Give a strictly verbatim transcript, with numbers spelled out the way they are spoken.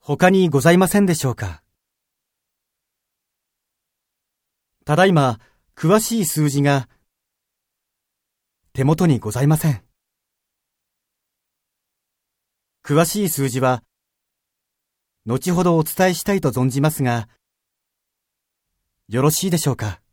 他にございませんでしょうか。ただいま、詳しい数字が手元にございません。詳しい数字は、後ほどお伝えしたいと存じますが、よろしいでしょうか。